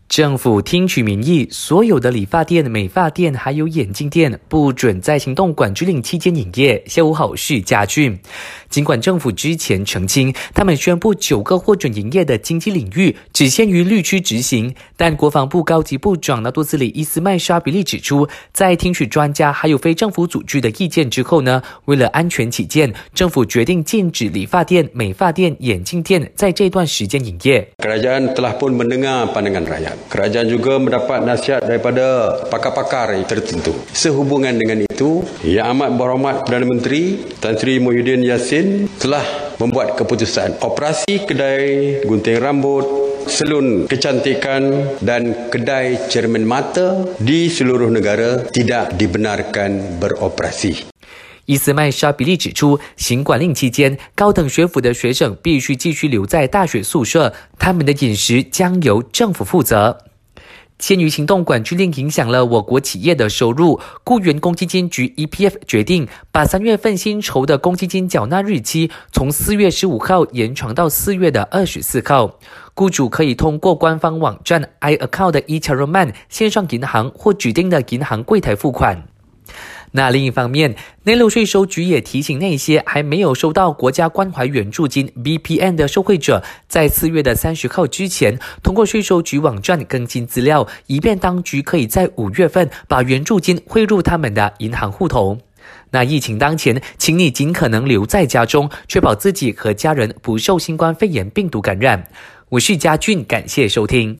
政府听取民意，所有的理发店、美发店还有眼镜店不准在行动管制令期间营业。下午好，是嘉俊。尽管政府之前澄清，他们宣布9个获准营业的经济领域只限于绿区执行，但国防部高级部长纳多斯里伊斯麦沙比利指出，在听取专家还有非政府组织的意见之后呢，为了安全起见，政府决定禁止理发店、美发店、眼镜店在这段时间营业。 Kerajaan telah pun mendengar pandangan rakyat. Kerajaan juga mendapat nasihat daripada pakar-pakar tertentu. Sehubungan dengan itu, Yang Amat Berhormat Perdana Menteri Tan Sri Muhyiddin Yassin telah membuat keputusan operasi kedai gunting rambut, salon kecantikan dan kedai cermin mata di seluruh negara tidak dibenarkan beroperasi. 伊斯麦沙比利指出，行管令期间，高等学府的学生必须继续留在大学宿舍，他们的饮食将由政府负责。鉴于行动管制令影响了我国企业的收入，雇员公积金局 EPF 决定把3月份薪酬的公积金缴纳日期从4月15号延长到4月的24号。雇主可以通过官方网站 iAccount 的 eCharoman 线上银行或指定的银行柜台付款。那另一方面，内陆税收局也提醒那些还没有收到国家关怀援助金 BPN 的受惠者，在4月的30号之前，通过税收局网站更新资料，以便当局可以在5月份把援助金汇入他们的银行户头。那疫情当前，请你尽可能留在家中，确保自己和家人不受新冠肺炎病毒感染。我是嘉俊，感谢收听。